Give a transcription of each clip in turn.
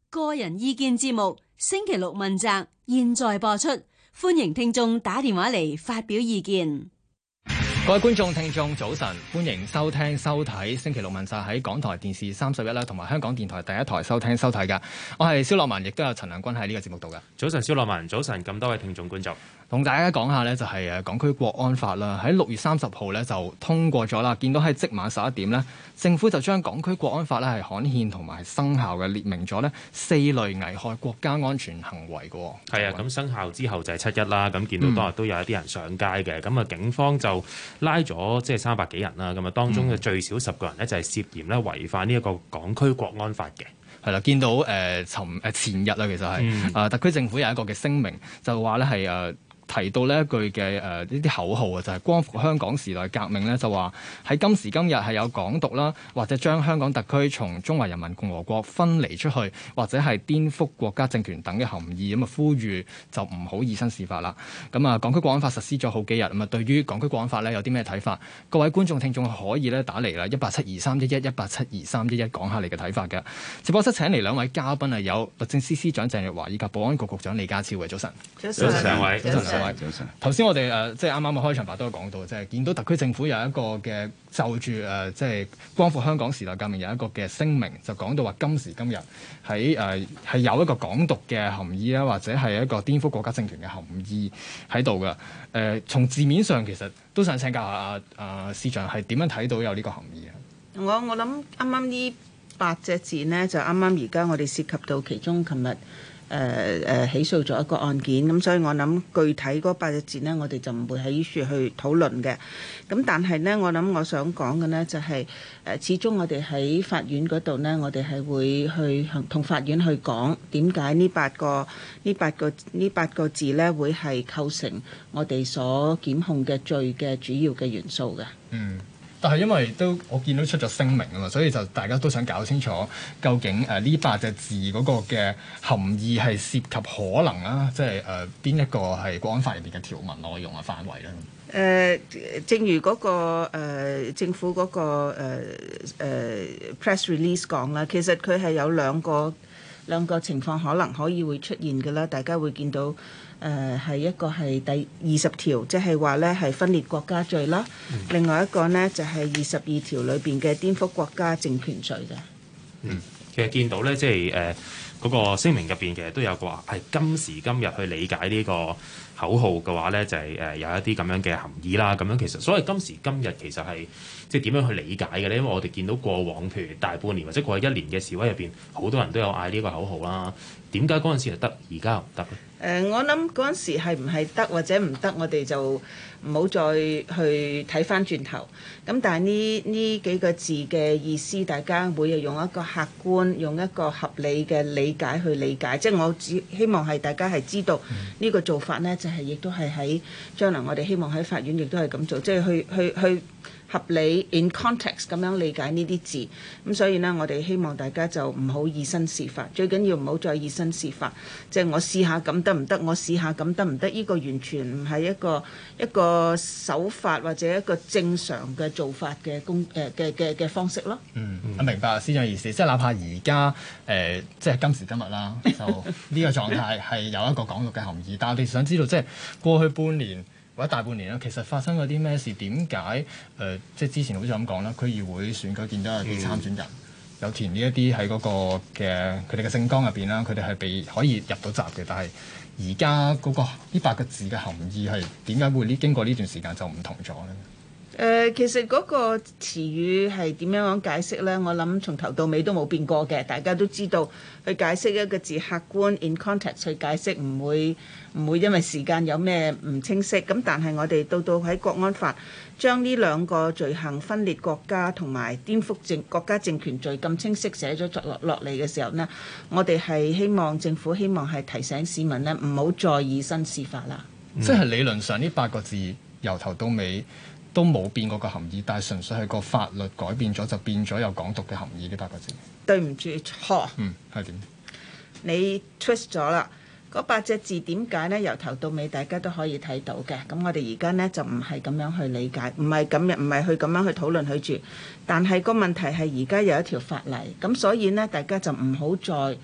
個人意見節目星期六問責，現在播出，歡迎聽眾打電話嚟發表意見。 各位觀眾聽眾早晨，歡迎收聽收睇星期六問責喺港台電視31啦，同埋香港電台第一台收聽收睇㗎。我係蕭樂文，亦都有陳亮君喺呢個節目度㗎。 早晨，蕭樂文，早晨，咁多位聽眾觀眾， 同大家講下呢，就係港區國安法啦，喺6月30號呢就通過咗啦。見到喺即晚11點呢，政府就將港區國安法呢係刊憲同埋生效嘅，列明咗呢4類危害國家安全行為嘅。 係啊，咁生效之後就係7·1啦。咁見到當日都有一啲人上街嘅，咁啊警方就拉咗即係300幾人啦。咁啊當中嘅最少10個人呢，就係涉嫌咧違反呢一個港區國安法嘅。 係啦，見到前日啦，其實係特區政府有一個嘅聲明，就話咧係提到呢一句嘅呢啲口號啊，就係光復香港時代革命咧，就話喺今時今日係有港獨啦，或者將香港特區從中華人民共和國分離出去，或者係顛覆國家政權等嘅含義，咁啊呼籲就唔好以身試法啦。咁啊，港區國安法實施咗好幾日，咁啊對於港區國安法咧有啲咩睇法？各位觀眾聽眾可以咧打嚟啦，1872311，1872311講下你嘅睇法嘅。直播室請嚟2位嘉賓啊，有律政司司長鄭若驊以及保安局局長李家超嘅。早晨， 早晨兩位， 早晨。頭先我哋即係啱啱嘅開場白都有講到，即係見到特區政府有一個嘅就住即係光復香港時代革命有一個嘅聲明，就講到話今時今日喺係有一個港獨嘅含義啦，或者係一個顛覆國家政權嘅含義喺度嘅。從字面上其實都想請教下司長係點樣睇到有呢個含義啊？ 我諗啱啱呢8隻字呢，就啱啱而家我哋涉及到其中琴日。起訴咗一個案件，咁所以我諗具體嗰8隻字呢，我哋就唔會喺呢處去討論嘅。咁但係呢，我想講嘅呢，就係始終我哋喺法院嗰度呢，我哋係會去同法院去講點解呢8個字呢會係構成我哋所檢控嘅罪嘅主要嘅元素嘅。 但係因為我見到出咗聲明啊嘛，所以就大家都想搞清楚究竟呢8隻字嗰個嘅含義係涉及可能啊，即係邊一個係國安法入邊嘅條文內容嘅範圍咧？ 正如嗰個政府嗰個press release 講啦，其實佢係有兩個情況可以會出現嘅啦，大家會見到。係一個係第20條，即係話咧係分裂國家罪啦。另外一個呢，就係22條裏邊嘅顛覆國家政權罪嘅。 其實見到咧，即係嗰個聲明入邊其實都有個話係今時今日去理解呢個口號嘅話咧，就係有一啲咁樣嘅含義啦。咁樣其實所謂今時今日其實係即係點樣去理解嘅咧？因為我哋見到過往譬如大半年或者過去1年嘅示威入邊，好多人都有嗌呢個口號啦。點解嗰陣時係得，而家又唔得咧？ 我諗嗰陣時係唔係得或者唔得，我哋就唔好再去睇翻轉頭。咁但係呢幾個字嘅意思，大家會用一個客觀、用一個合理嘅理解去理解。即係我只希望係大家係知道呢個做法呢，就係亦都係喺將來我哋希望喺法院亦都係咁做，即係去合理 in context 咁樣理解呢啲字。咁所以呢，我哋希望大家就唔好以身試法，最緊要唔好再以身試法。即係我試下咁得唔得？我試下咁得唔得？呢個完全唔係一個手法或者一個正常嘅做法嘅方式咯。 我明白司長意思，即係哪怕而家即係今時今日啦，就呢個狀態係有一個港獨嘅含義，但係我哋想知道，即係過去半年或者大半年啦，其實發生咗啲咩事？點解即係之前好似咁講啦，區議會選舉見到有啲參選人有填呢一啲喺嗰個嘅佢哋嘅政綱入邊啦，佢哋係可以入到閘嘅，但係而家嗰個呢8個字嘅含義係點解會經過呢段時間就唔同咗咧？ 其實嗰個詞語係點樣解釋呢？我諗從頭到尾都冇變過嘅，大家都知道去解釋一個字客觀 in context 去解釋，唔會因為時間有咩唔清晰。咁但係我哋到喺國安法將呢2個罪行分裂國家同埋顛覆國家政權罪咁清晰寫咗落嚟嘅時候呢，我哋係政府希望係提醒市民呢，唔好再以身試法啦。 即係理論上呢8個字由頭到尾都冇變過個含義，但係純粹係個法律改變咗，就變咗有港獨嘅含義。呢8個字對唔住錯。 係點？ 你 twist 咗啦。嗰8隻字點解呢？由頭到尾大家都可以睇到嘅。咁我哋而家呢，就唔係咁樣去理解，唔係去咁樣去討論佢住。但係個問題係而家有一條法例，咁所以呢，大家就唔好再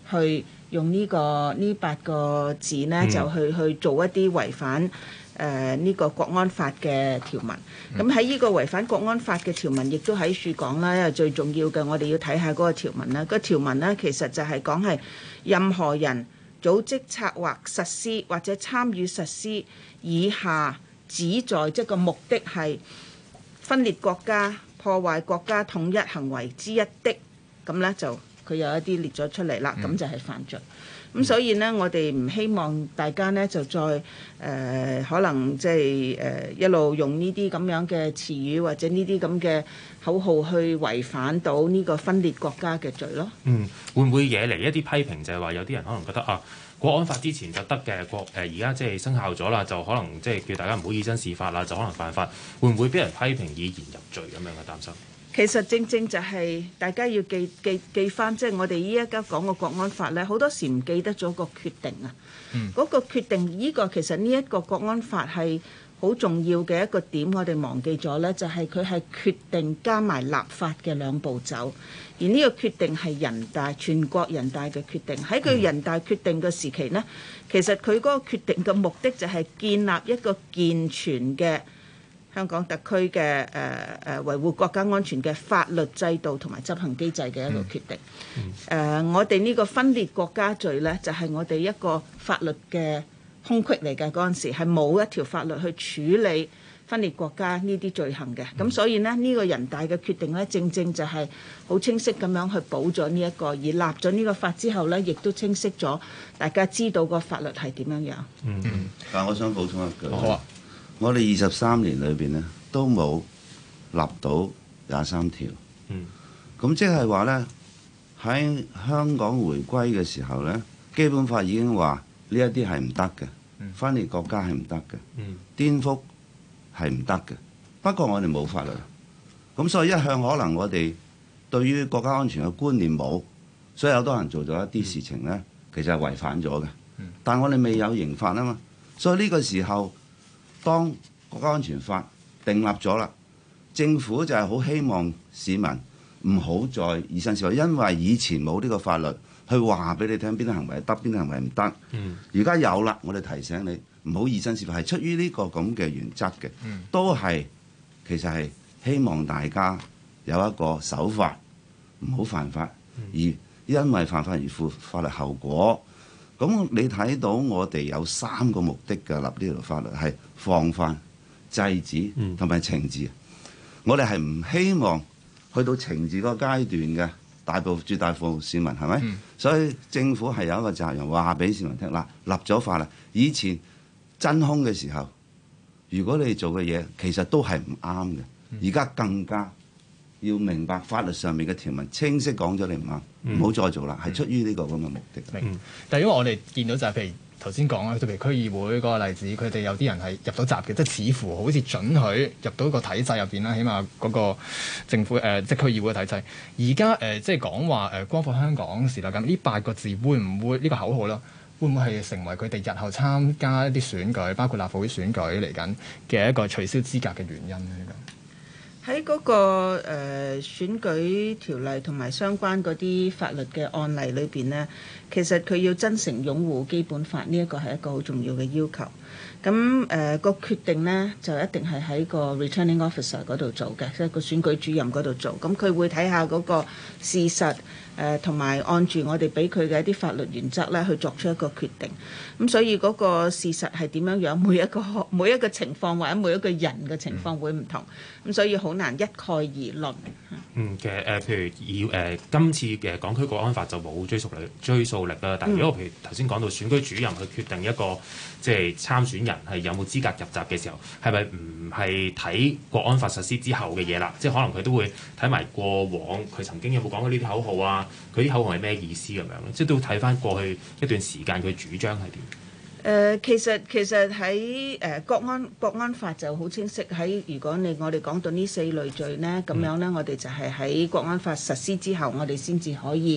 去用呢8個字呢，就去做一啲違反呢個國安法嘅條文。咁喺呢個違反國安法嘅條文，亦都喺處講啦。因為最重要嘅，我哋要睇下嗰個條文啦。個條文呢，其實就係講係任何人組織、策劃、實施或者參與實施以下旨在，即係個目的係分裂國家、破壞國家統一行為之一的，咁呢就佢有一啲列咗出嚟啦，咁就係犯罪。咁所以呢，我哋唔希望大家呢就再可能即係一路用呢啲咁樣嘅詞語或者呢啲咁嘅口號去違反到呢個分裂國家嘅罪咯。 會唔會惹嚟一啲批評？就係話有啲人可能覺得啊，國安法之前就得嘅，而家即係生效咗啦，就可能即係叫大家唔好以身試法啦，就可能犯法。會唔會俾人批評以言入罪咁樣嘅擔心？ 其實正正就係大家要記翻，即係我哋依家講個國安法咧，好多時唔記得咗個決定啊。嗰個決定，呢個其實呢一個國安法係好重要嘅一個點，我哋忘記咗咧，就係佢係決定加埋立法嘅兩步走。而呢個決定係全國人大嘅決定。喺佢人大決定嘅時期呢，其實佢嗰個決定嘅目的就係建立一個健全嘅香港特區嘅維護國家安全嘅法律制度同埋執行機制嘅一個決定。我哋呢個分裂國家罪呢，就係我哋一個法律嘅空隙嚟嘅。嗰陣時係冇一條法律去處理分裂國家呢啲罪行嘅。咁所以呢，呢個人大嘅決定呢，正正就係好清晰咁樣去補咗呢一個，而立咗呢個法之後呢，亦都清晰咗大家知道個法律係點樣樣。 但我想補充一句。 好啊。 我哋23年裏邊呢，都冇立到23條。咁即係話呢，喺香港回歸嘅時候呢，基本法已經話呢一啲係唔得嘅，分裂國家係唔得嘅，顛覆係唔得嘅。不過我哋冇法律，咁所以一向可能我哋對於國家安全嘅觀念冇，所以有好多人做咗一啲事情呢，其實係違反咗嘅。但我哋未有刑法啊嘛，所以呢個時候，當國家安全法訂立咗啦，政府就係好希望市民唔好再以身試法，因為以前冇呢個法律去話俾你聽邊啲行為得，邊啲行為唔得。而家有啦，我哋提醒你唔好以身試法，係出於呢個咁嘅原則嘅，都係其實係希望大家有一個守法，唔好犯法，而因為犯法而負法律後果。咁你睇到我哋有3個目的嘅立呢條法律，係防範、制止同埋懲治。我哋係唔希望去到懲治個階段嘅，絕大部分市民係咪？所以政府係有一個責任話俾市民聽，嗱，立咗法啦。以前真空嘅時候，如果你做嘅嘢其實都係唔啱嘅，而家更加要明白法律上面嘅條文清晰講咗你唔啱，唔好再做啦，係出於呢個咁嘅目的。 但係因為我哋見到就係譬如頭先講啦，譬如區議會嗰個例子，佢哋有啲人係入到閘嘅，即係似乎好似准許入到個體制入邊啦，起碼嗰個政府即係區議會嘅體制。而家即係講話光復香港時代咁，呢8個字會唔會呢個口號啦？會唔會係成為佢哋日後參加一啲選舉，包括立法會選舉嚟緊嘅一個取消資格嘅原因咧？ 喺嗰個選舉條例同埋相關嗰啲法律嘅案例裏邊呢，其實佢要真誠擁護基本法呢一個係一個好重要嘅要求。咁個決定呢，就一定係喺個 returning officer 嗰度做嘅，即係個選舉主任嗰度做。咁佢會睇下嗰個事實，同埋按住我哋俾佢嘅一啲法律原則咧去作出一個決定。咁所以嗰個事實係點樣樣，每一個情況或者每一個人嘅情況會唔同。咁所以好難一概而論。 其實譬如以今次嘅港區國安法就冇追溯力啦。但係如果譬如頭先講到選舉主任去決定一個即係參選人係有冇資格入閘嘅時候，係咪唔係睇國安法實施之後嘅嘢啦？即係可能佢都會睇埋過往佢曾經有冇講過呢啲口號啊？佢啲口號係咩意思咁樣咧？即係都睇翻過去一段時間佢主張係點？ 其實喺國安法就好清晰，喺如果我哋講到呢4類罪呢，咁樣呢，我哋就係喺國安法實施之後，我哋先至可以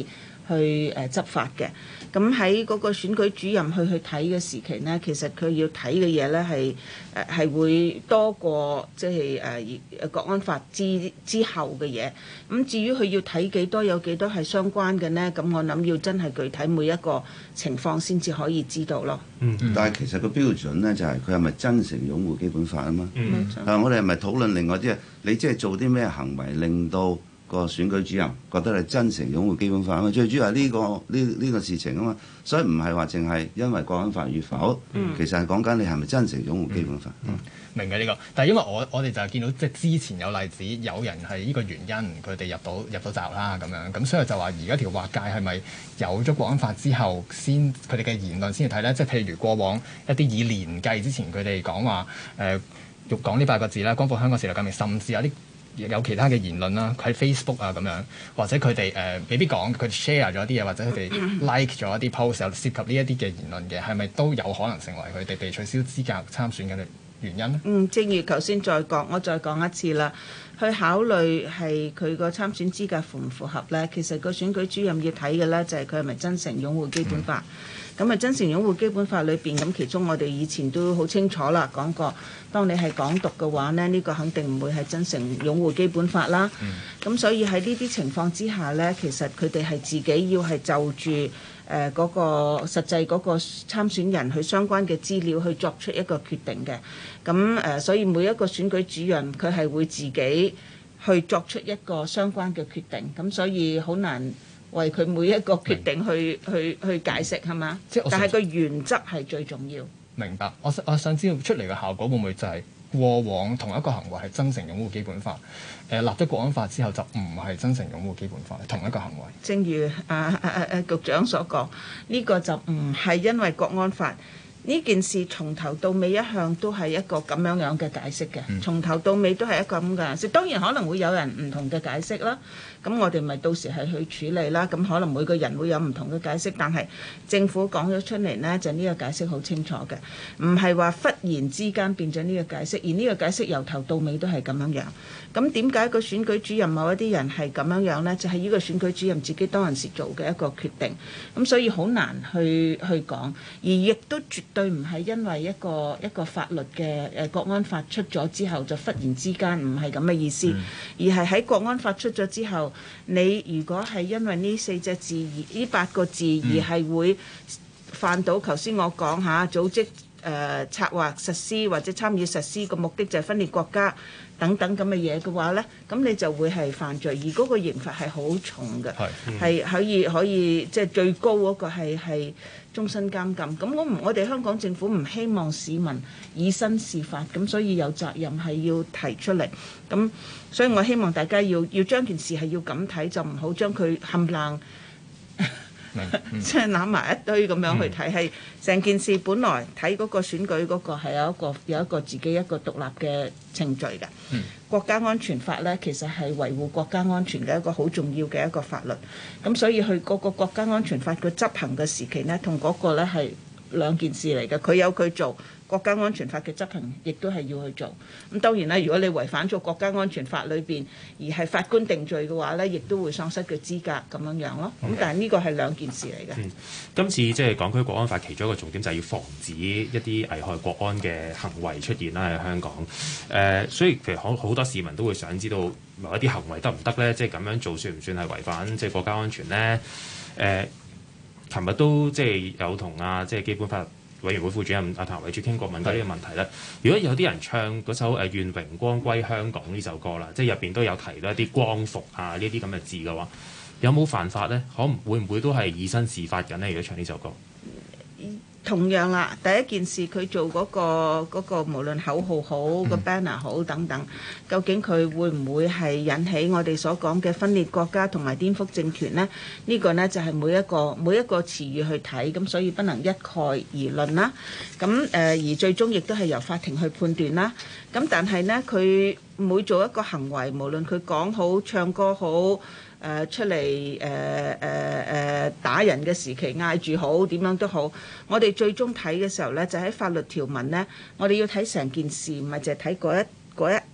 去執法嘅。咁喺嗰個選舉主任去睇嘅時期呢，其實佢要睇嘅嘢呢係會多過即係國安法之後嘅嘢。咁至於佢要睇幾多，有幾多係相關嘅呢？咁我諗要真係具體每一個情況先至可以知道咯。 但係其實個標準呢，就係佢係咪真誠擁護基本法啊嘛？但係我哋係咪討論另外啲你即係做啲咩行為令到個選舉主任覺得你真誠擁護基本法啊嘛？最主要係呢個事情啊嘛，所以唔係話淨係因為國安法與否，其實係講緊你係咪真誠擁護基本法。 明嘅呢個，但係因為我哋就係見到即係之前有例子，有人係呢個原因佢哋入到閘啦咁樣，咁所以就話而家條劃界係咪有咗國安法之後先佢哋嘅言論先去睇咧？即係譬如過往一啲以年計之前佢哋講話欲講呢8個字啦，光復香港時代革命，甚至有其他嘅言論啦，喺 Facebook 啊咁樣，或者佢哋未必講，佢 share 咗啲嘢，或者佢哋 like 咗一啲 post 有涉及呢一啲嘅言論嘅，係咪都有可能成為佢哋被取消資格參選嘅原因呢？ 正如頭先我再講一次啦，去考慮係佢個參選資格符唔符合呢？其實個選舉主任要睇嘅呢，就係佢係咪真誠擁護基本法。咁啊，真誠擁護基本法裏邊，咁其中我哋以前都好清楚啦，講過，當你係港獨嘅話呢，呢個肯定唔會係真誠擁護基本法啦。咁所以喺呢啲情況之下呢，其實佢哋係自己要係就住嗰個實際嗰個參選人佢相關嘅資料去作出一個決定嘅。咁所以每一個選舉主任佢係會自己去作出一個相關嘅決定。咁所以好難為佢每一個決定去解釋係嘛？但係個原則係最重要。 明白。我想知道出嚟嘅效果會唔會就係過往同一個行為係真誠擁護基本法，立咗國安法之後就唔係真誠擁護基本法，同一個行為。 正如局長所講，呢個就唔係因為國安法。呢件事從頭到尾一向都係一個咁樣嘅解釋嘅，從頭到尾都係一個咁嘅解釋。當然可能會有人唔同嘅解釋啦，咁我哋咪到時係去處理啦。咁可能每個人會有唔同嘅解釋，但係政府講咗出嚟呢，就呢個解釋好清楚嘅，唔係話忽然之間變咗呢個解釋，而呢個解釋由頭到尾都係咁樣樣。咁點解個選舉主任某一啲人係咁樣樣呢？就係呢個選舉主任自己當陣時做嘅一個決定，咁所以好難去講，而亦都絕對唔係因為一個法律嘅國安法出咗之後就忽然之間，唔係咁嘅意思，而係喺國安法出咗之後，你如果係因為呢4隻字呢8個字而係會犯到頭先我講下組織策劃實施或者參與實施個目的就係分裂國家等等咁嘅嘢嘅話呢，咁你就會係犯罪，而嗰個刑罰係好重嘅，係可以即係最高嗰個係終身監禁。咁我哋香港政府唔希望市民以身試法，咁所以有責任係要提出嚟。咁所以我希望大家要將件事係要咁睇，就唔好將佢冚冷。即係攬埋一堆咁樣去睇，係成件事本來睇嗰個選舉嗰個係有一個自己一個獨立嘅程序嘅。國家安全法呢，其實係維護國家安全嘅一個好重要嘅一個法律。咁所以佢嗰個國家安全法佢執行嘅時期呢，同嗰個呢係兩件事嚟嘅。佢有佢做。國家安全法嘅執行亦都係要去做。咁當然啦，如果你違反咗國家安全法裏邊而係法官定罪嘅話呢，亦都會喪失佢資格咁樣樣咯。咁但係呢個係兩件事嚟嘅。 今次即係港區國安法其中一個重點就係要防止一啲危害國安嘅行為出現啦喺香港。所以其實好多市民都會想知道某一啲行為得唔得呢？即係咁樣做算唔算係違反即係國家安全呢？琴日都即係有同即係基本法委員會副主任譚惠珠傾過，問到呢個問題咧。如果有啲人唱嗰首願榮光歸香港呢首歌啦，即係入邊都有提到一啲光復呢啲咁嘅字嘅話，有冇犯法咧？會唔會都係以身試法緊咧？如果唱呢首歌？ 同樣啦，第一件事佢做嗰個無論口號好個 banner 好等等，究竟佢會唔會係引起我哋所講嘅分裂國家同埋顛覆政權呢？呢個呢就係每一個詞語去睇，咁所以不能一概而論啦。咁而最終亦都係由法庭去判斷啦。咁但係呢，佢每做一個行為，無論佢講好、唱歌好。出嚟打人嘅時期嗌住好點樣都好，我哋最終睇嘅時候呢，就喺法律條文呢，我哋要睇成件事，唔係淨係睇嗰一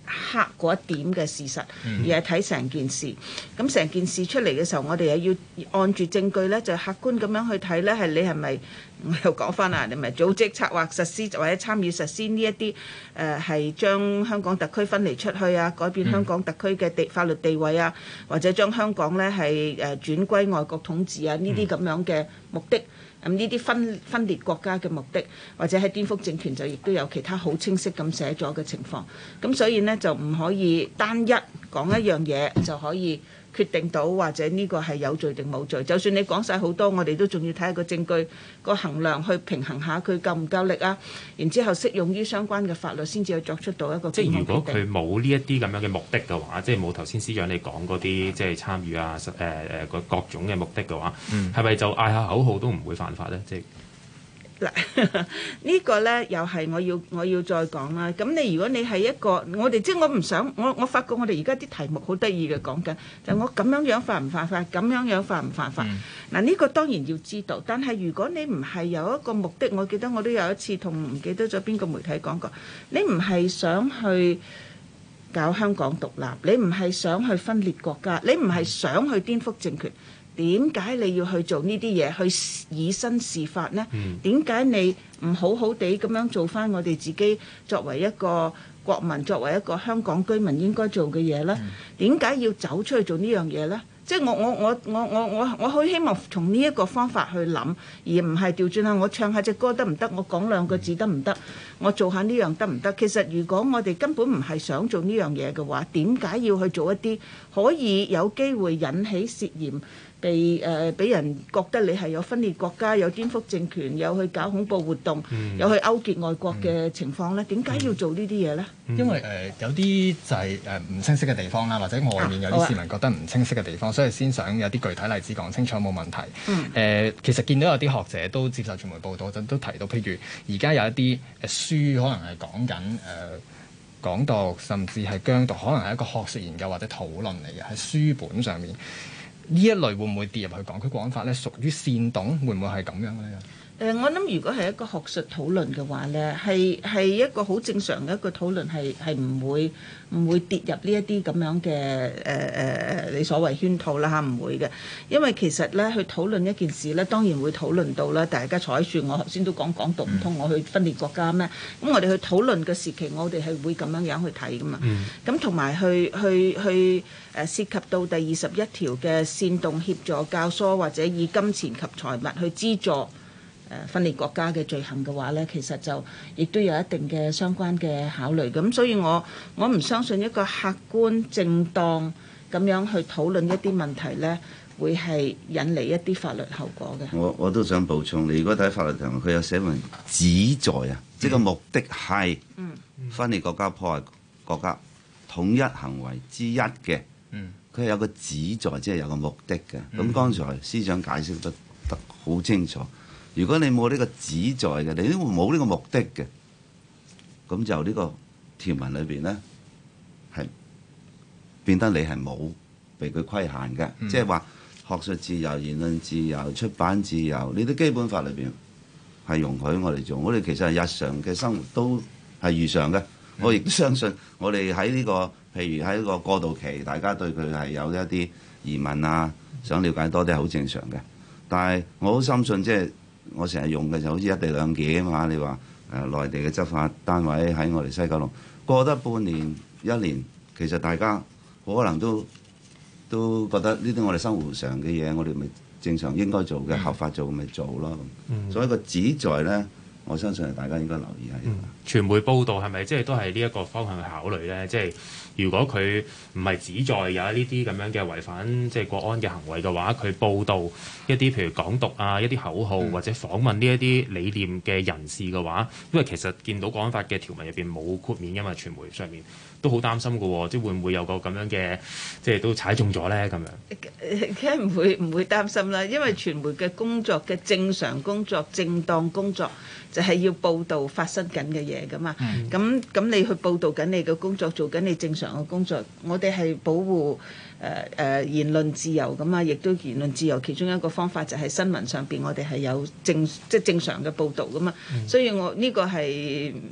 刻嗰一點嘅事實，而係睇成件事。咁成件事出嚟嘅時候，我哋又要按住證據咧，就客觀咁樣去睇咧，係你係咪？我又講翻啦，你咪組織策劃實施或者參與實施呢一啲係將香港特區分離出去啊，改變香港特區嘅法律地位啊，或者將香港咧係轉歸外國統治啊，呢啲咁樣嘅目的。咁呢啲分裂國家嘅目的，或者喺顛覆政權就亦都有其他好清晰咁寫咗嘅情況。咁所以呢，就唔可以單一講一樣嘢就可以決定到或者呢個係有罪定冇罪。就算你講晒好多，我哋都仲要睇下個證據個衡量去平衡下佢夠唔夠力啊。然之後適用於相關嘅法律先至去作出到一個檢控決定。 即係如果佢冇呢一啲咁樣嘅目的嘅話，即係冇頭先司長你講嗰啲即係參與啊各種嘅目的嘅話，係咪就嗌下口號都唔會犯法咧？即係嗱，呢個呢又係我要再講啦。咁你如果你係一個我哋即係我唔想我發覺我哋而家啲題目好得意嘅講緊，就我咁樣樣犯唔犯法，咁樣樣犯唔犯法？嗱，呢個當然要知道，但係如果你唔係有一個目的，我記得我都有一次同唔記得咗邊個媒體講過，你唔係想去搞香港獨立，你唔係想去分裂國家，你唔係想去顛覆政權。點解你要去做呢啲嘢，去以身試法呢？點解你唔好好地咁樣做翻我哋自己作為一個國民，作為一個香港居民應該做嘅嘢呢？點解要走出去做呢樣嘢呢？即係我好希望從呢一個方法去諗，而唔係調轉下我唱下隻歌得唔得？我講兩個字得唔得？我做下呢樣得唔得？其實如果我哋根本唔係想做呢樣嘢嘅話，點解要去做一啲可以有機會引起涉嫌俾人覺得你係有分裂國家、有顛覆政權、有去搞恐怖活動、有去勾結外國嘅情況呢？點解要做呢啲嘢呢？ 因為有啲就係唔清晰嘅地方啦，或者外面有啲市民覺得唔清晰嘅地方，所以先想有啲具體例子講清楚冇問題。其實見到有啲學者都接受傳媒報道陣都提到，譬如而家有一啲書可能係講緊港獨，甚至係疆獨，可能係一個學術研究或者討論嚟嘅，喺書本上面。呢一類會唔會跌入去港區國安法咧？屬於煽動，會唔會係咁樣嘅咧？ 我諗如果係一個學術討論嘅話呢，係一個好正常嘅一個討論，係唔會跌入呢一啲咁樣嘅你所謂圈套啦嚇，唔會嘅。因為其實呢，去討論一件事呢，當然會討論到啦。大家坐喺樹，我頭先都講港獨唔通我去分裂國家咩？咁我哋去討論嘅時期，我哋係會咁樣樣去睇噶嘛。咁同埋去涉及到第21條嘅煽動、協助、教唆或者以金錢及財物去資助分裂國家嘅罪行嘅話呢，其實就亦都有一定嘅相關嘅考慮。咁所以我唔相信一個客觀正當咁樣去討論一啲問題呢，會係引嚟一啲法律後果嘅。 我都想補充，你如果睇法律條文，佢有寫明旨在啊，即係個目的係分裂國家、破壞國家統一行為之一嘅。佢係有個旨在，即係有個目的嘅。咁剛才司長解釋得好清楚。如果你冇呢個旨在嘅，你都冇呢個目的嘅，咁就呢個條文裏邊咧係變得你係冇被佢規限嘅，即係話學術自由、言論自由、出版自由，呢啲基本法裏邊係容許我哋做。我哋其實係日常嘅生活都係如常嘅。我亦都相信我哋喺呢個譬如喺呢個過渡期，大家對佢係有一啲疑問啊，想了解多啲係好正常嘅。但係我好深信即係。我成日用嘅就好似一地兩檢啊嘛，你話內地嘅執法單位喺我哋西九龍過得半年一年，其實大家可能都覺得呢啲我哋生活上嘅嘢，我哋咪正常應該做嘅合法做咪做咯。所以個旨在呢，我相信大家應該留意下。 傳媒報道係咪即係都係呢一個方向去考慮呢？即係如果佢唔係旨在有呢啲咁樣嘅違反即係國安嘅行為嘅話，佢報道一啲譬如港獨啊、一啲口號或者訪問呢一啲理念嘅人士嘅話，因為其實見到國安法嘅條文入邊冇豁免㗎嘛，傳媒上面都好擔心㗎喎，即係會唔會有個咁樣嘅即係都踩中咗呢？咁樣梗係唔會擔心啦，因為傳媒嘅工作嘅正常工作、正當工作就係要報導發生緊嘅嘢㗎嘛。咁你去報導緊你嘅工作，做緊你正常嘅工作，我哋係保護言論自由㗎嘛，亦都言論自由其中一個方法就係新聞上邊我哋係有正常嘅報導㗎嘛。所以我呢個係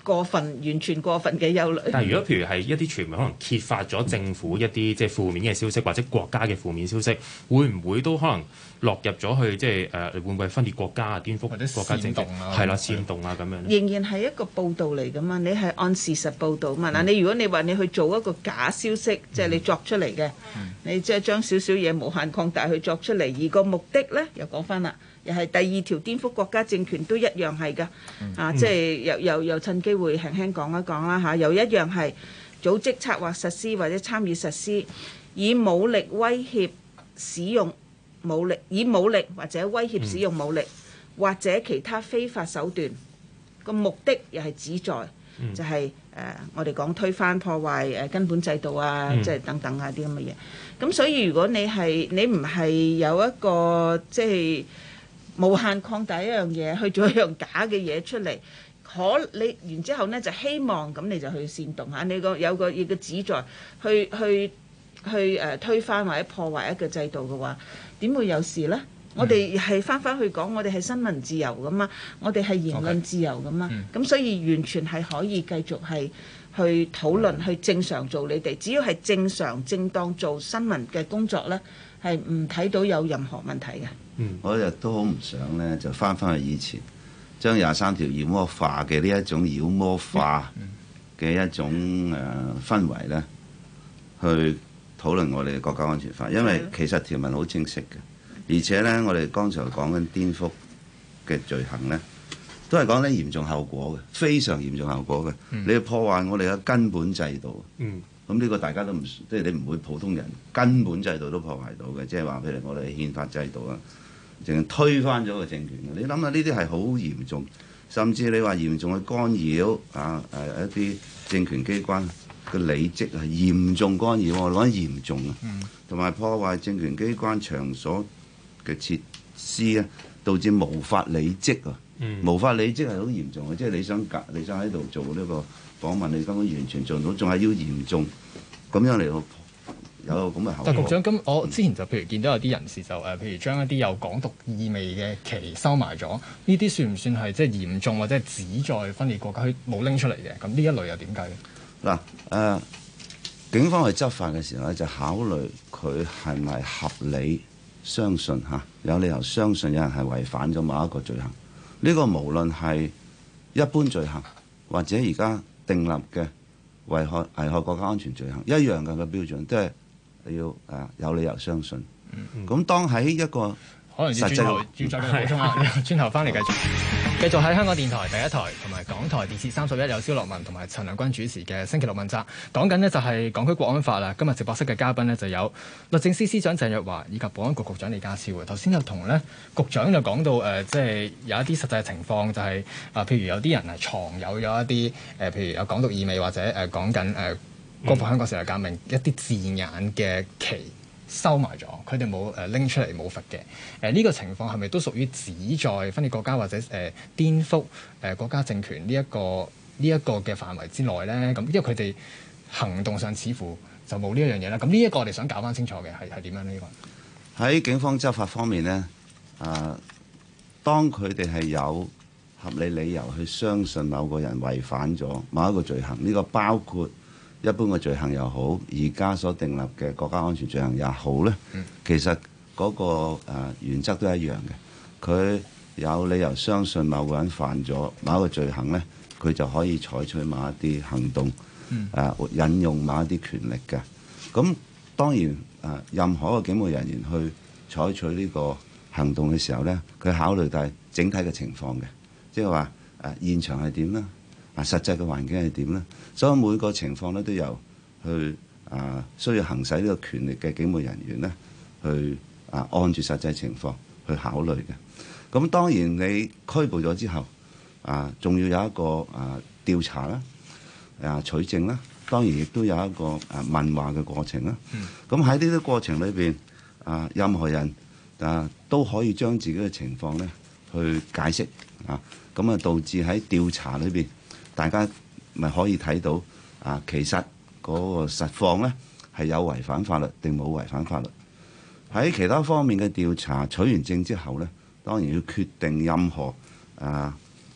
完全過分嘅憂慮。 但係如果譬如係一啲傳媒可能揭發咗政府一啲即係負面嘅消息，或者國家嘅負面消息，會唔會都可能落入咗去即係會唔會分裂國家啊、顛覆國家政局係啦、煽動啊咁樣？ 仍然係一個報導嚟㗎嘛，你係按事實報導嘛。嗱，你如果你話你去做一個假消息，即係你作出嚟嘅，你即係將少少嘢無限擴大去作出嚟，而個目的呢，又講翻啦。又係第二條顛覆國家政權都一樣係㗎，即係又趁機會輕輕講一講啦嚇，又一樣係組織策劃實施或者參與實施，以武力威脅使用武力，以武力或者威脅使用武力，或者其他非法手段，個目的又係旨在就係我哋講推翻破壞根本制度啊，即係等等啊啲咁嘅嘢。咁所以如果你唔係有一個即係無限擴大一樣嘢，去做一樣假嘅嘢出嚟，你然之後呢，就希望咁你就去煽動下，你有個旨在去推翻或者破壞一個制度嘅話，點會有事呢？我哋係翻去講，我哋係新聞自由噶嘛，我哋係言論自由噶嘛，咁所以完全係可以繼續係去討論，去正常做你哋，只要係正常正當做新聞嘅工作呢，係唔睇到有任何問題嘅。 我亦都好唔想呢，就翻去以前，將23條妖魔化嘅呢一種妖魔化嘅一種氛圍呢，去討論我哋嘅國家安全法，因為其實條文好清晰嘅，而且呢，我哋剛才講緊顛覆嘅罪行呢，都係講緊嚴重後果嘅，非常嚴重後果嘅，你要破壞我哋嘅根本制度。咁呢個大家都唔，即係你唔會普通人根本制度都破壞到嘅，即係話譬如我哋憲法制度啊，淨係推翻咗個政權嘅。你諗下呢啲係好嚴重，甚至你話嚴重去干擾一啲政權機關嘅履職係嚴重干擾，我講嚴重啊，同埋破壞政權機關場所嘅設施啊，導致無法履職啊，無法履職係好嚴重嘅，即係你想喺度做呢個訪問，你根本完全做唔到，仲係要嚴重咁樣嚟到有咁嘅後果。 但局長，咁我之前就譬如見到有啲人士就譬如將一啲有港獨意味嘅旗收埋咗，呢啲算唔算係即係嚴重或者係旨在分裂國家？佢冇拎出嚟嘅，咁呢一類又點計？ 嗱警方去執法嘅時候咧，就考慮佢係咪合理相信有理由相信有人係違反咗某一個罪行。呢個無論係一般罪行或者而家訂立嘅危害國家安全罪行一樣嘅標準，都係你要有理由相信。咁當喺一個可能要轉頭再補充下，轉頭翻嚟繼續喺香港電台第一台同埋港台電視31有蕭樂文同埋陳良君主持嘅星期六問責，講緊呢就係港區國安法啦。今日直播室嘅嘉賓呢，就有律政司司長鄭若驊以及保安局局長李家超嘅。頭先就同呢局長就講到即係有一啲實際嘅情況，就係譬如有啲人係藏有咗一啲譬如有港獨意味或者講緊光復香港時代革命一啲字眼嘅旗收埋咗，佢哋冇拎出嚟冇罰嘅。呢個情況係咪都屬於旨在分裂國家或者顛覆國家政權呢一個嘅範圍之內咧？咁因為佢哋行動上似乎就冇呢一樣嘢啦。咁呢一個我哋想搞翻清楚嘅係點樣呢？呢個喺警方執法方面咧，當佢哋係有合理理由去相信某個人違反咗某一個罪行，呢個包括一般嘅罪行又好，而家所訂立嘅國家安全罪行也好咧，其實嗰個原則都一樣嘅。佢有理由相信某個人犯咗某一個罪行咧，佢就可以採取某一啲行動，引用某一啲權力嘅。咁當然任何一個警務人員去採取呢個行動嘅時候咧，佢考慮到整體嘅情況嘅，即係話現場係點啦。實際嘅環境係點呢？所以每個情況咧都有去需要行使呢個權力嘅警務人員咧，去按住實際情況去考慮嘅。咁當然你拘捕咗之後，仲要有一個調查啦，取證啦，當然亦都有一個問話嘅過程啦。咁喺呢啲過程裏邊，任何人都可以將自己嘅情況咧去解釋咁導致喺調查裏邊，大家咪可以睇到其實嗰個實況咧係有違反法律定冇違反法律。喺其他方面嘅調查取完證之後咧，當然要決定任何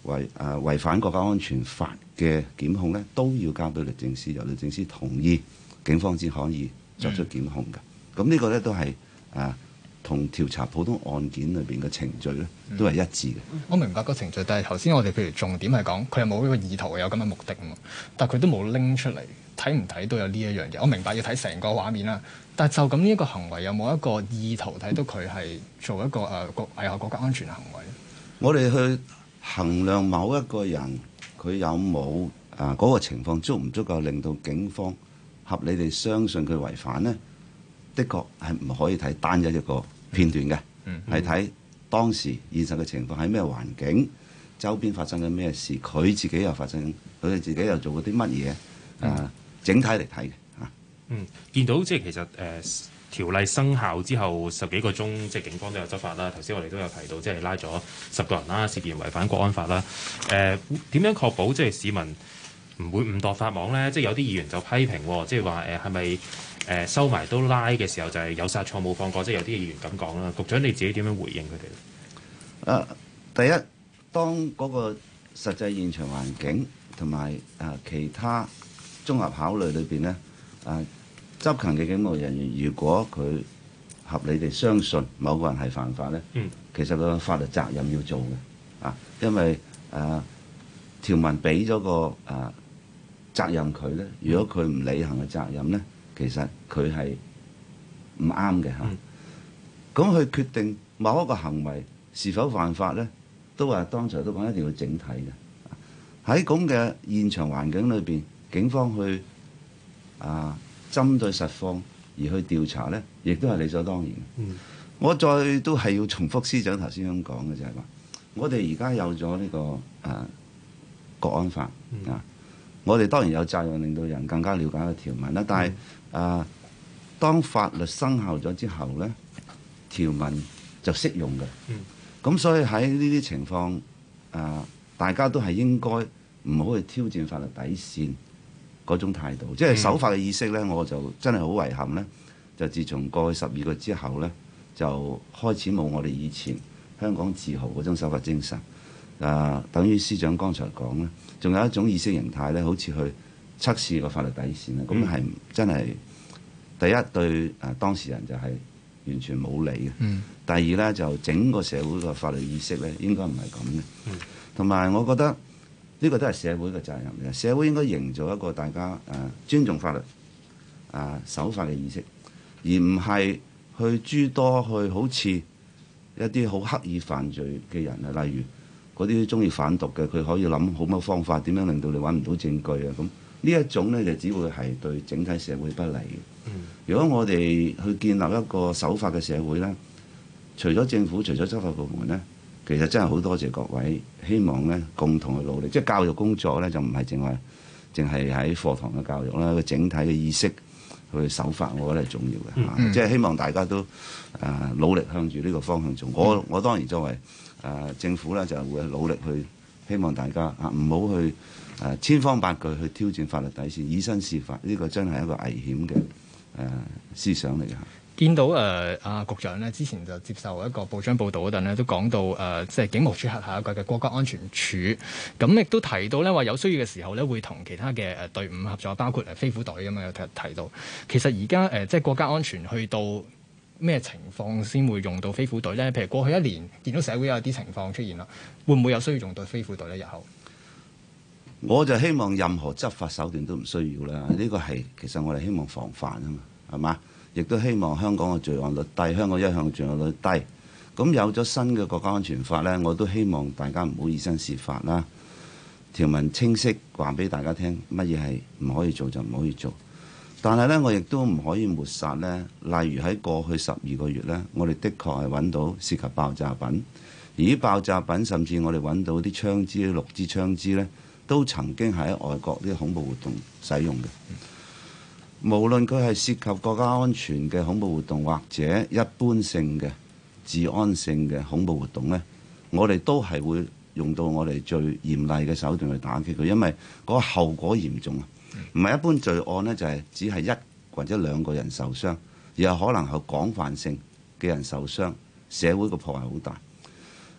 違反國家安全法嘅檢控咧，都要交俾律政司，由律政司同意，警方先可以作出檢控嘅。咁呢個咧都係同調查普通案件裏邊嘅程序咧，都係一致嘅。 我明白個程序，但係頭先我哋譬如重點係講佢係冇呢個意圖有咁嘅目的啊嘛，但係佢都冇拎出嚟，睇唔睇都有呢一樣嘢。我明白要睇成個畫面啦，但係就咁呢一個行為有冇一個意圖睇到佢係做一個危害國家安全嘅行為？ 我哋去衡量某一個人佢有冇嗰個情況足唔足夠令到警方合理地相信佢違反呢？的確係唔可以睇單一一個片段嘅，係睇當時現實嘅情況喺咩環境，周邊發生緊咩事，佢自己又發生，佢哋自己又做過啲乜嘢，整體嚟睇嘅嚇。 見到即係其實條例生效之後10幾個鐘，即係警方都有執法啦。頭先我哋都有提到，即係拉咗10個人啦，涉嫌違反國安法啦。點樣確保即係市民唔會誤墮法網咧？即係有啲議員就批評，即係話係咪收埋都拉嘅時候就係有殺錯冇放過？即係有啲議員咁講啦。局長你自己點樣回應佢哋？ 第一，當嗰個實際現場環境同埋其他綜合考慮裏邊咧，執勤嘅警務人員，如果佢合理地相信某個人係犯法咧，其實個法律責任要做嘅，因為條文俾咗個責任佢咧，如果佢唔履行嘅責任咧，其實佢係唔啱嘅嚇。咁去決定某一個行為是否犯法咧，都話當才都講一定要整體嘅。喺咁嘅現場環境裏邊，警方去針對實況而去調查咧，亦都係理所當然嘅。我再都係要重複司長頭先咁講嘅，就係話我哋而家有咗呢個國安法我哋當然有責任令到人更加了解個條文啦。但係當法律生效咗之後咧，條文就適用嘅。咁所以喺呢啲情況大家都係應該唔好去挑戰法律底線嗰種態度，即係守法嘅意識咧，我就真係好遺憾咧。就自從過去12個之後咧，就開始冇我哋以前香港自豪嗰種守法精神。等於司長剛才講咧，仲有一種意識形態咧，好似去測試個法律底線咧，咁係真係第一對當事人就係完全冇理嘅。第二咧，就整個社會個法律意識咧，應該唔係咁嘅。同埋我覺得呢個都係社會嘅責任嘅，社會應該營造一個大家尊重法律守法嘅意識，而唔係去諸多去好似一啲好刻意犯罪嘅人啊，例如嗰啲中意販毒嘅，佢可以諗好多方法點樣令到你揾唔到證據啊。咁呢一種咧就只會係對整體社會不利嘅。如果我哋去建立一個守法嘅社會咧，除咗政府，除咗執法部門咧，其實真係好多謝各位，希望咧共同去努力。即係教育工作咧，就唔係淨係喺課堂嘅教育啦，個整體嘅意識去守法，我覺得係重要嘅。即係希望大家都努力向住呢個方向做。我當然作為政府咧，就會努力去希望大家唔好去千方百計去挑戰法律底線，以身試法。呢個真係一個危險嘅思想嚟嘅。 見到局長咧，之前就接受一個報章報導嗰陣咧，都講到即係警務處轄下一個嘅國家安全處，咁亦都提到咧話有需要嘅時候咧，會同其他嘅隊伍合作，包括飛虎隊咁樣有提到。其實而家即係國家安全去到咩情況先會用到飛虎隊咧？譬如過去1年見到社會有啲情況出現啦，會唔會有需要用到飛虎隊咧？日後我就希望任何執法手段都唔需要啦。呢個係其實我哋希望防範啊嘛，係嘛？亦都希望香港嘅罪案率低，香港一向罪案率低。咁有咗新嘅國家安全法呢，我都希望大家唔好以身試法啦。條文清晰話俾大家聽，乜嘢係唔可以做就唔可以做。但係呢，我亦都唔可以抹殺呢。例如喺過去12個月呢，我哋的確係揾到涉及爆炸品，而啲爆炸品甚至我哋揾到啲槍支、6支槍支呢，都曾經喺外國啲恐怖活動使用嘅。無論佢係涉及國家安全嘅恐怖活動，或者一般性嘅治安性嘅恐怖活動呢，我哋都係會用到我哋最嚴厲嘅手段去打擊佢，因為嗰個後果嚴重啊！唔係一般罪案呢，就係只係1或者2個人受傷，而係可能係廣泛性嘅人受傷，社會個破壞好大。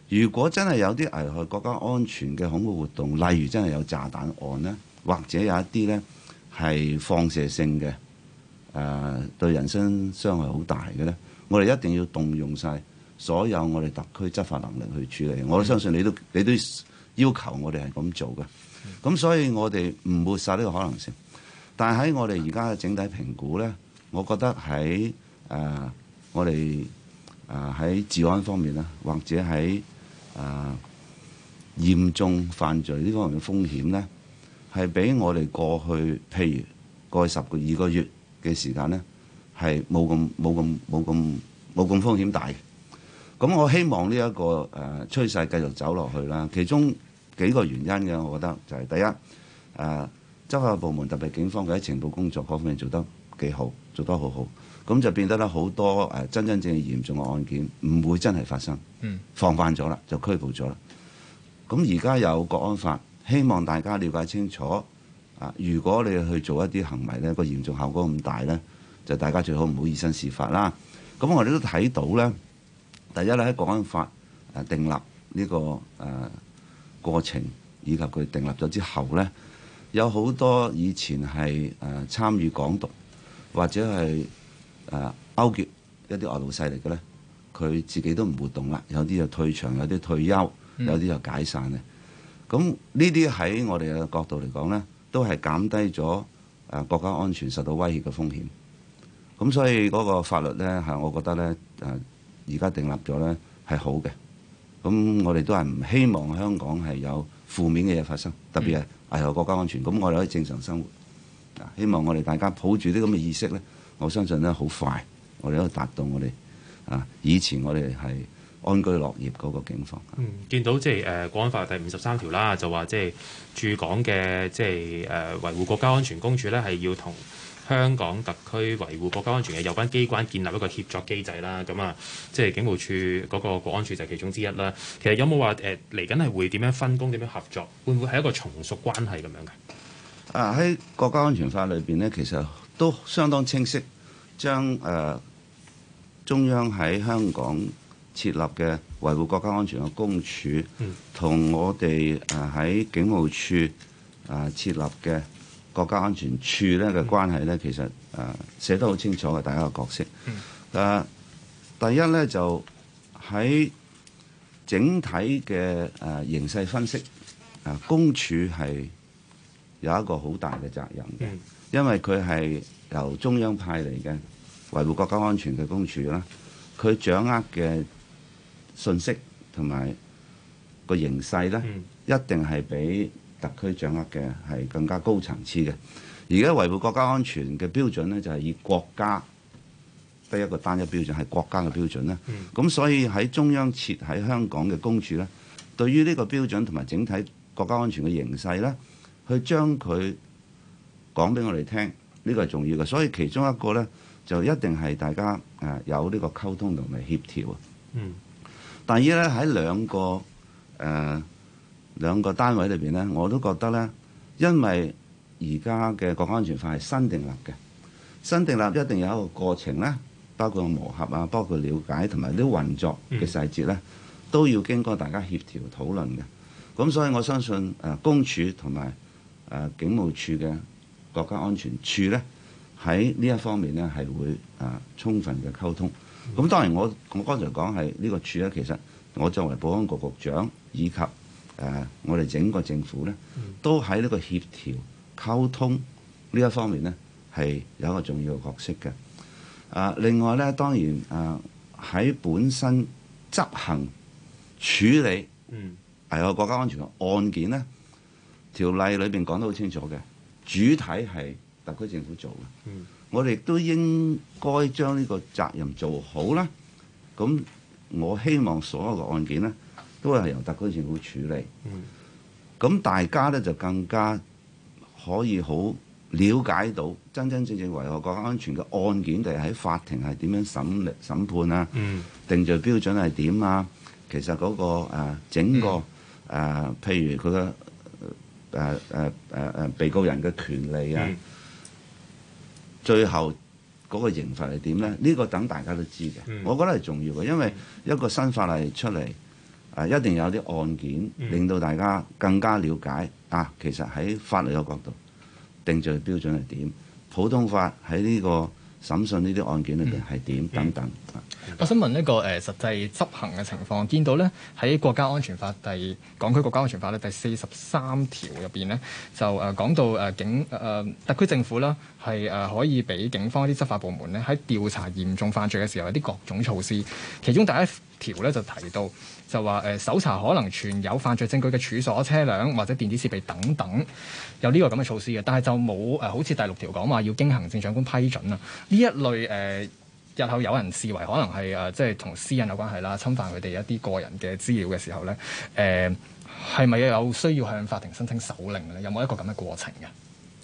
如果真係有啲危害國家安全嘅恐怖活動，例如真係有炸彈案呢，或者有一啲呢係放射性嘅，對人身傷害好大嘅呢，我哋一定要動用晒所有我哋特區執法能力去處理。我都相信你都要求我哋係咁做嘅。咁所以我哋唔抹殺呢個可能性。但係喺我哋而家嘅整體評估呢，我覺得喺我哋喺治安方面啦，或者喺嚴重犯罪呢方面嘅風險呢，係比我哋過去譬如過去12個月嘅時間呢，係冇咁風險大嘅。咁我希望呢一個趨勢繼續走落去啦。其中幾個原因嘅，我覺得就係第一，執法部門特別警方嘅喺情報工作嗰方面做得幾好，做得好好。咁就變得咧好多真正嚴重嘅案件唔會真係發生，防範咗啦，就拘捕咗啦。咁而家有國安法，希望大家了解清楚。如果你去做一啲行為呢，個嚴重效果咁大呢，就大家最好唔好以身試法啦。咁我哋都睇到呢，第一咧喺國安法訂立呢個過程，以及佢訂立咗之後呢，有好多以前係參與港獨或者係勾結一啲外部勢力嘅咧，佢自己都唔活動啦，有啲就退場，有啲退休，有啲就解散嘅。咁呢啲喺我哋嘅角度嚟講咧，都係減低咗國家安全受到威脅嘅風險。咁所以嗰個法律咧係我覺得咧而家訂立咗咧係好嘅。咁我哋都係唔希望香港係有負面嘅嘢發生，特別係危害國家安全。咁我哋可以正常生活。希望我哋大家抱住啲咁嘅意識咧，我相信咧好快，我哋都達到我哋以前我哋係安居樂業嗰個境況。 見到即係國安法第53條啦，就話即係駐港嘅即係維護國家安全公署咧，係要同香港特區維護國家安全嘅有關機關建立一個協作機制啦。咁即係警務處嗰個國安處就係其中之一啦。其實有冇話嚟緊係會點樣分工、點樣合作？會唔會係一個從屬關係咁樣嘅？ 喺國家安全法裏邊呢，其實都相當清晰，將中央喺香港設立嘅維護國家安全嘅公署，同我哋喺警務處設立嘅國家安全處咧嘅關係咧，其實寫得好清楚嘅，大家嘅角色。第一咧就喺整體嘅形勢分析，公署係有一個好大嘅責任嘅，因為佢係由中央派嚟嘅維護國家安全嘅公署啦，佢掌握嘅信息同埋個形勢咧，一定係比特區掌握嘅係更加高層次嘅。而家維護國家安全嘅標準咧，就係以國家得一個單一標準，係國家嘅標準啦。咁所以喺中央設喺香港嘅公署咧，對於呢個標準同埋整體國家安全嘅形勢咧，去將佢講俾我哋聽，呢個係重要嘅。所以其中一個咧，就一定係大家有呢個溝通同埋協調啊。第二咧，喺兩個單位裏邊咧，我都覺得咧，因為而家嘅國家安全法係新訂立嘅，新訂立一定有一個過程咧，包括磨合啊，包括了解同埋啲運作嘅細節咧，都要經過大家協調討論嘅。咁所以我相信公署同埋警務處嘅國家安全處咧，喺呢一方面咧係會充分嘅溝通。咁當然我剛才講係呢個處咧，其實我作為保安局局長以及我哋整個政府咧，都喺呢個協調溝通呢一方面咧係有一個重要嘅角色嘅。另外咧，當然喺本身執行處理危害國家安全嘅案件咧，條例裏邊講得好清楚嘅，主體係特區政府做嘅。我哋亦都應該將呢個責任做好啦。咁我希望所有嘅案件咧，都係由特區政府處理。咁大家咧就更加可以好了解到真正危害國家安全嘅案件，定係喺法庭係點樣審判啊？定罪標準係點啊？其實嗰個整個譬如佢嘅被告人嘅權利啊，最後嗰個刑罰係點咧？呢個等大家都知嘅。我覺得係重要嘅，因為一個新法例出嚟， 一定有啲案件令到大家更加了解其實喺法律嘅角度定罪標準係點，普通法喺呢個審訊呢啲案件裏邊係點等等。 我想問一個實際執行嘅情況，見到咧喺國家安全法港區國家安全法咧第43條入邊咧就講到特區政府啦係可以俾警方一啲執法部門咧喺調查嚴重犯罪嘅時候有啲各種措施，其中第一條咧就提到就話搜查可能存有犯罪證據嘅處所、車輛或者電子設備等等，有呢個咁嘅措施嘅，但係就冇好似第6條講話要經行政長官批准啊呢一類日後有人視為可能係即係同私隱有關係啦，侵犯佢哋一啲個人嘅資料嘅時候咧，係咪有需要向法庭申請手令咧？有冇一個咁嘅過程嘅？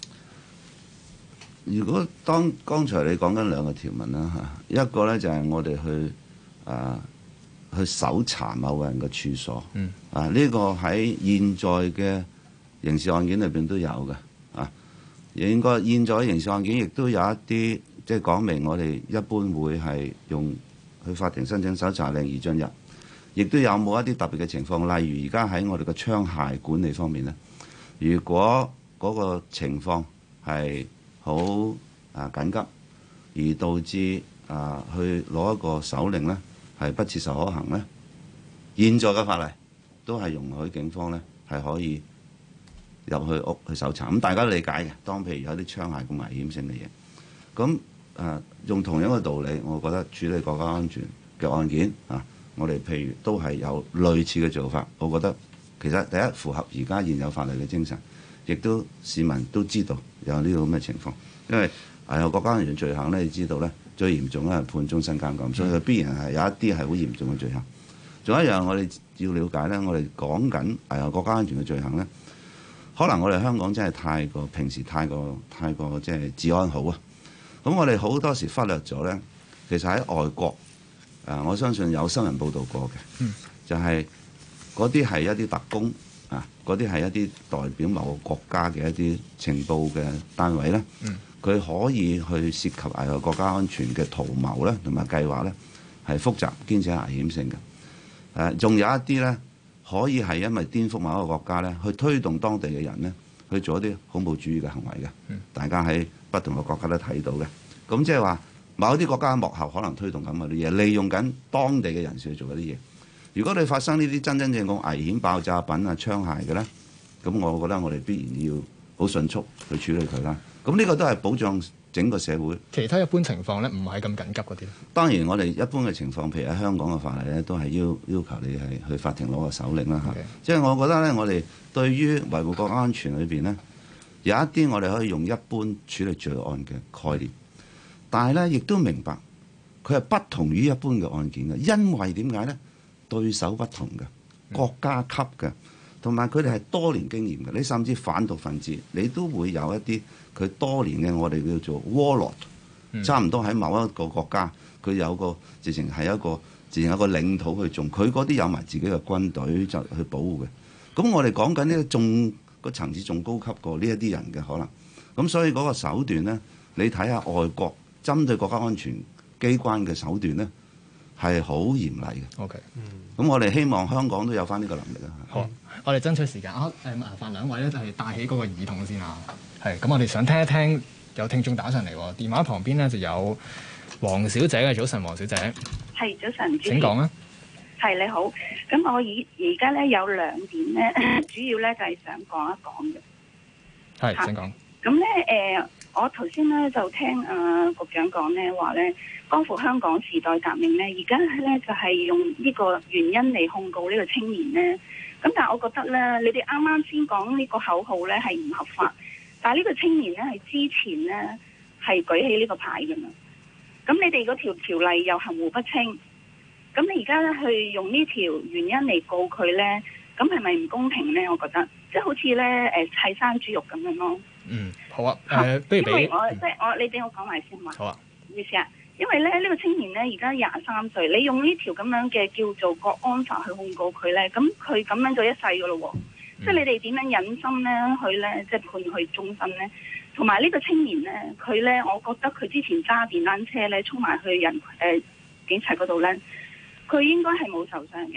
如果剛才你講緊兩個條文啦嚇，一個咧就係我哋去搜查某個人嘅處所，呢個喺現在嘅刑事案件裏邊都有嘅應該現在刑事案件亦都有一啲。即係講明，我哋一般會係用去法庭申請搜查令而進入，亦都有冇一啲特別嘅情況，例如而家喺我哋嘅槍械管理方面咧，如果嗰個情況係好緊急，而導致去攞一個手令咧係不切實可行咧，現在嘅法例都係容許警方咧係可以入去屋去搜查。咁大家理解嘅，當譬如有啲槍械咁危險性嘅嘢，咁用同樣嘅道理，我覺得處理國家安全嘅案件我哋譬如都係有類似嘅做法。我覺得其實第一符合而家現有法律嘅精神，亦都市民都知道有呢個咁嘅情況。因為有國家安全罪行咧，你知道咧最嚴重咧係判終身監禁，所以佢必然係有一啲係好嚴重嘅罪行。仲有一樣我哋要了解咧，我哋講緊國家安全嘅罪行咧，可能我哋香港真係平時太過即係治安好啊。咁我哋好多時忽略咗咧，其實喺外國我相信有新聞報道過嘅，就係嗰啲係一啲特工嗰啲係一啲代表某個國家嘅一啲情報嘅單位咧，佢可以去涉及國家安全嘅圖謀咧，同埋計劃咧係複雜兼且危險性嘅。仲有一啲咧可以係因為顛覆某一個國家咧，去推動當地嘅人咧去做一啲恐怖主義嘅行為嘅。大家喺不同嘅國家都睇到嘅。咁即係話某啲國家幕後可能推動緊嗰啲嘢，利用緊當地嘅人士去做嗰啲嘢。如果你發生呢啲真正咁危險爆炸品槍械嘅咧，咁我覺得我哋必然要好迅速去處理佢啦。咁呢個都係保障整個社會。 其他一般情況咧，唔係咁緊急嗰啲。當然我哋一般嘅情況，譬如喺香港嘅法例咧，都係要求你係去法庭攞個手令啦嚇。即係我覺得咧，我哋對於維護國家安全裏邊咧，有一啲我哋可以用一般處理罪案嘅概念，但係咧亦都明白佢係不同於一般嘅案件嘅，因為點解咧？對手不同嘅，國家級嘅，同埋佢哋係多年經驗嘅。你甚至販毒分子，你都會有一啲佢多年嘅我哋叫做 warlord，差唔多喺某一個國家，佢有個直情係一個領土去種，佢嗰啲有埋自己嘅軍隊就去保護嘅。咁我哋講緊呢個仲個層次仲高級過呢一啲人嘅可能。咁所以嗰個手段咧，你睇下外國針對國家安全機關嘅手段咧，係好嚴厲嘅。 OK， 咁我哋希望香港都有翻呢個能力啊。 好，我哋爭取時間麻煩兩位咧就係帶起嗰個耳筒先啊。係，咁我哋想聽一聽有聽眾打上嚟喎，電話旁邊咧就有黃小姐嘅。早晨，黃小姐。 係，早晨。 請講啊。 係，你好，咁我而家咧有兩點咧，主要咧就係想講一講嘅。 係，請講。 咁咧我頭先咧就聽局長講咧話咧，光復香港時代革命咧，而家咧就係用呢個原因嚟控告呢個青年咧。咁但係我覺得咧，你哋啱啱先講呢個口號咧係唔合法，但係呢個青年咧係之前咧係舉起呢個牌㗎嘛。咁你哋嗰條例又含糊不清，咁你而家咧去用呢條原因嚟告佢咧，咁係咪唔公平咧？我覺得即係好似咧砌生豬肉咁樣咯。 好啊。不如俾你俾我講埋先嘛。 好啊。 唔好意思啊，因為咧呢個青年咧而家23歲，你用呢條咁樣嘅叫做國安法去控告佢咧，咁佢咁樣就一世噶咯喎。即係你哋點樣忍心咧去咧即係判佢終身咧？同埋呢個青年咧，佢咧我覺得佢之前揸電單車咧衝埋去警察嗰度咧，佢應該係冇受傷嘅。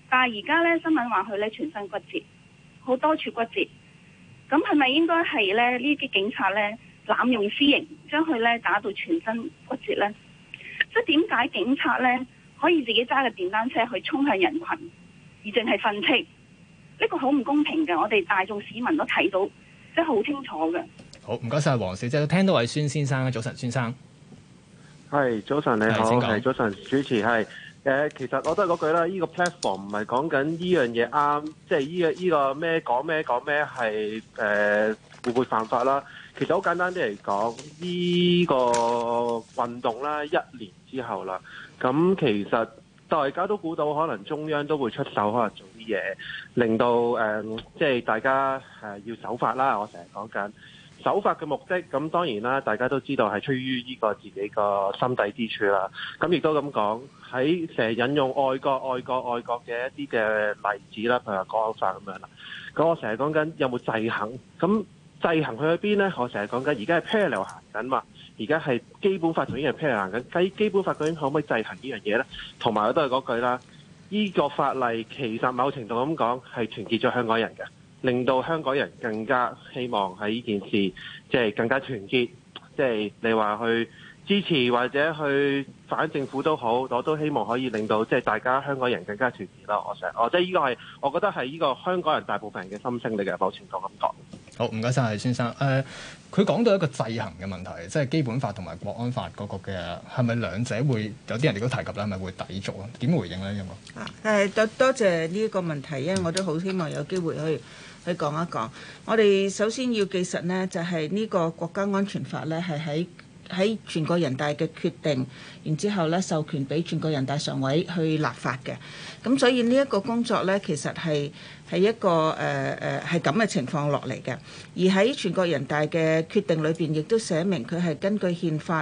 但係而家咧新聞話佢咧全身骨折，好多處骨折。咁係咪應該係咧呢啲警察咧濫用私刑，將佢咧打到全身骨折咧？即係點解警察咧可以自己揸個電單車去衝向人群，而淨係訓斥？呢個好唔公平嘅，我哋大眾市民都睇到，即係好清楚嘅。 好，唔該晒黃小姐，聽到位孫先生，早晨，孫生。 係早晨，你好，係早晨，主持係其實我都係嗰句啦，呢個 platform 唔係講緊呢樣嘢啱，即係呢個咩講咩係會唔會犯法啦？其實好簡單啲嚟講，呢個運動啦，1年之後啦，咁其實大家都估到，可能中央都會出手，可能做啲嘢，令到即係大家要守法啦。我成日講緊守法嘅目的，咁當然啦，大家都知道係出於呢個自己個心底之處啦。咁亦都咁講，喺成日引用愛國嘅一啲嘅例子啦，譬如話國安法咁樣啦。咁我成日講緊有冇制衡？咁制衡去邊呢？我成日講緊而家係 parallel 行緊嘛，而家係基本法仲已經係 parallel 行緊。基本法究竟可唔可以制衡呢樣嘢呢？同埋我都係嗰句啦，呢個法例其實某程度咁講係團結咗香港人嘅。令到香港人更加希望喺呢件事，即係更加團結，即係你話去支持或者去反政府都好，我都希望可以令到即係大家香港人更加團結啦。即係呢個係我覺得係呢個香港人大部分人嘅心聲嚟嘅，某程度咁講。 好，唔該晒，先生。佢講到一個制衡嘅問題，即係基本法同埋國安法嗰個嘅係咪兩者會有啲人哋都提及咧，係咪會抵觸啊？點回應咧？呢個多謝呢一個問題，因為我都好希望有機會去講一講。我哋首先要記實呢，就係呢個國家安全法呢，係喺全國人大嘅決定，然之後呢授權俾全國人大常委去立法嘅。咁所以呢一個工作呢，其實係一個係咁嘅情況落嚟嘅。而喺全國人大嘅決定裏邊，亦都寫明佢係根據憲法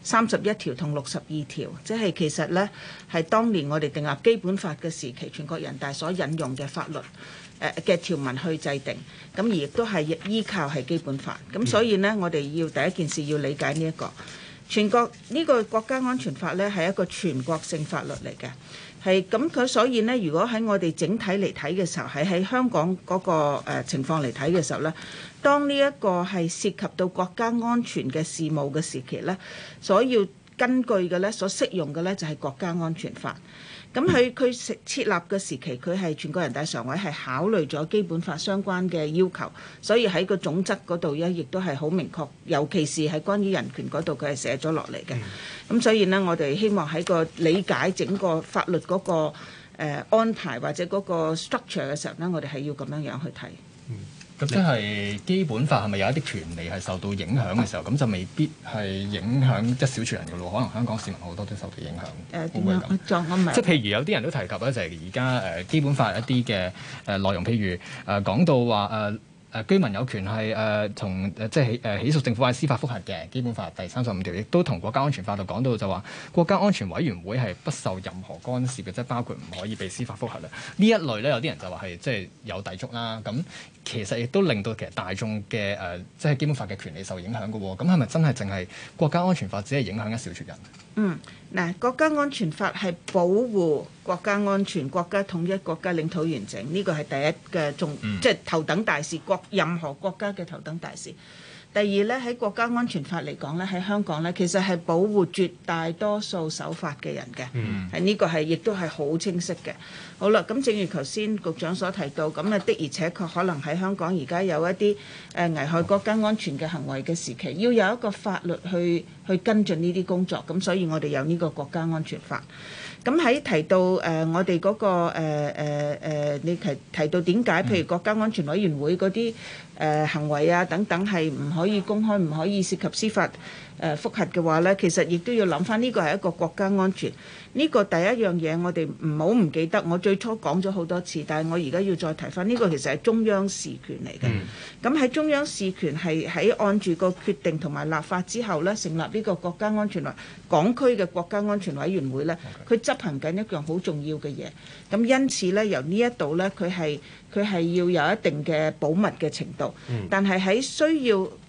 31條同62條，即係其實呢係當年我哋訂立基本法嘅時期，全國人大所引用嘅法律嘅條文去制定，咁而亦都係依靠係基本法。咁所以呢，我哋要第一件事要理解呢一個全國呢個國家安全法呢係一個全國性法律嚟嘅。係咁佢，所以呢，如果喺我哋整體嚟睇嘅時候，喺香港嗰個情況嚟睇嘅時候呢，當呢一個係涉及到國家安全嘅事務嘅時期呢，所要根據嘅呢，所適用嘅呢，就係國家安全法。咁佢設立嘅時期，佢係全國人大常委係考慮咗基本法相關嘅要求，所以喺個總則嗰度呢，亦都係好明確，尤其是係關於人權嗰度，佢係寫咗落嚟嘅。咁所以呢，我哋希望喺個理解整個法律嗰個安排或者嗰個 structure 嘅時候呢，我哋係要咁樣樣去睇。 咁即係基本法係咪有一啲權利係受到影響嘅時候，咁就未必係影響一小撮人嘅咯？可能香港市民好多都受到影響。會唔會咁？即係譬如有啲人都提及咧，就係而家基本法一啲嘅內容，譬如講到話居民有權係同即係起訴政府或者司法覆核嘅。基本法第35條亦都同國家安全法度講到就話國家安全委員會係不受任何干涉嘅，即係包括唔可以被司法覆核啦。呢一類咧，有啲人就話係即係有抵觸啦。咁其實亦都令到其實大眾嘅即係基本法嘅權利受影響嘅喎。咁係咪真係淨係國家安全法只係影響一小撮人？ 嗱，國家安全法係保護國家安全、國家統一、國家領土完整，呢個係第一嘅即係頭等大事，任何國家嘅頭等大事。第二咧，喺國家安全法嚟講咧，喺香港咧，其實係保護絕大多數守法嘅人嘅，係呢個係亦都係好清晰嘅。好啦，咁正如頭先局長所提到，咁的而且確可能喺香港而家有一啲危害國家安全嘅行為嘅時期，要有一個法律去跟進呢啲工作，咁所以我哋有呢個國家安全法。咁喺提到我哋嗰個你提到點解，譬如國家安全委員會嗰啲行為啊等等係唔可以公開、唔可以涉及司法覆核嘅話呢，其實亦都要諗翻呢個係一個國家安全。呢個第一樣嘢我哋唔好唔記得，我最初講咗好多次，但係我而家要再提翻，呢個其實係中央事權嚟嘅。咁喺中央事權係喺按住個決定同埋立法之後呢，成立呢個國家安全港區嘅國家安全委員會呢，佢執行緊一樣好重要嘅嘢。咁因此呢，由呢一度呢，佢係要有一定嘅保密嘅程度，但係喺需要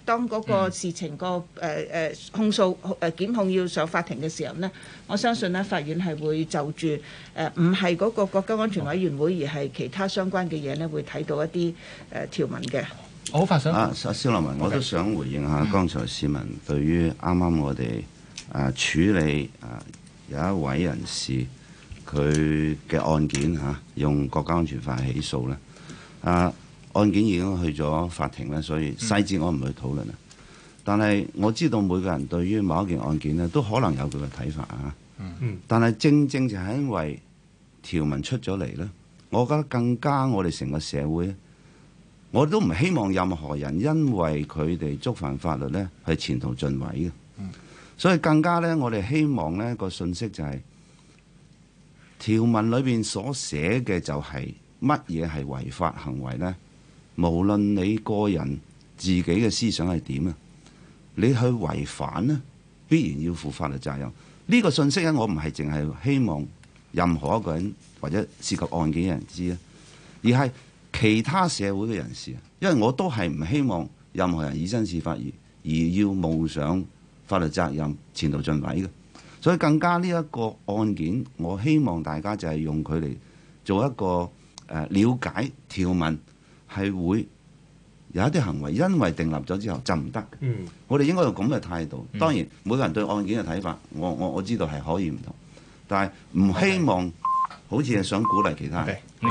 當嗰個事情個控訴檢控要上法庭嘅時候呢，我相信呢法院係會就住唔係嗰個國家安全委員會，而係其他相關嘅嘢呢，會睇到一啲條文嘅。 我好快想蕭立文，我都想回應下剛才市民對於啱啱我哋處理有一位人士佢嘅案件用國家安全法起訴咧，案件已經去咗法庭咧，所以細節我唔去討論啦。但係我知道每個人對於某一件案件咧，都可能有佢嘅睇法啊。但係正正就係因為條文出咗嚟咧，我覺得更加我哋成個社會，我都唔希望任何人因為佢哋觸犯法律咧係前途盡毀嘅。所以更加咧，我哋希望咧個信息就係條文裏邊所寫嘅就係乜嘢係違法行為咧。無論你個人自己嘅思想係點啊，你去違反呢，必然要負法律責任。呢個信息咧，我唔係淨係希望任何一個人或者涉及案件嘅人知啊，而係其他社會嘅人士。因為我都係唔希望任何人以身試法而要冒上法律責任、前途盡毀嘅。所以更加呢一個案件，我希望大家就係用佢嚟做一個了解條文。係會有一啲行為，因為訂立咗之後就唔得。我哋應該用咁嘅態度。當然，每個人對案件嘅睇法，我知道係可以唔同，但係唔希望好似係想鼓勵其他人。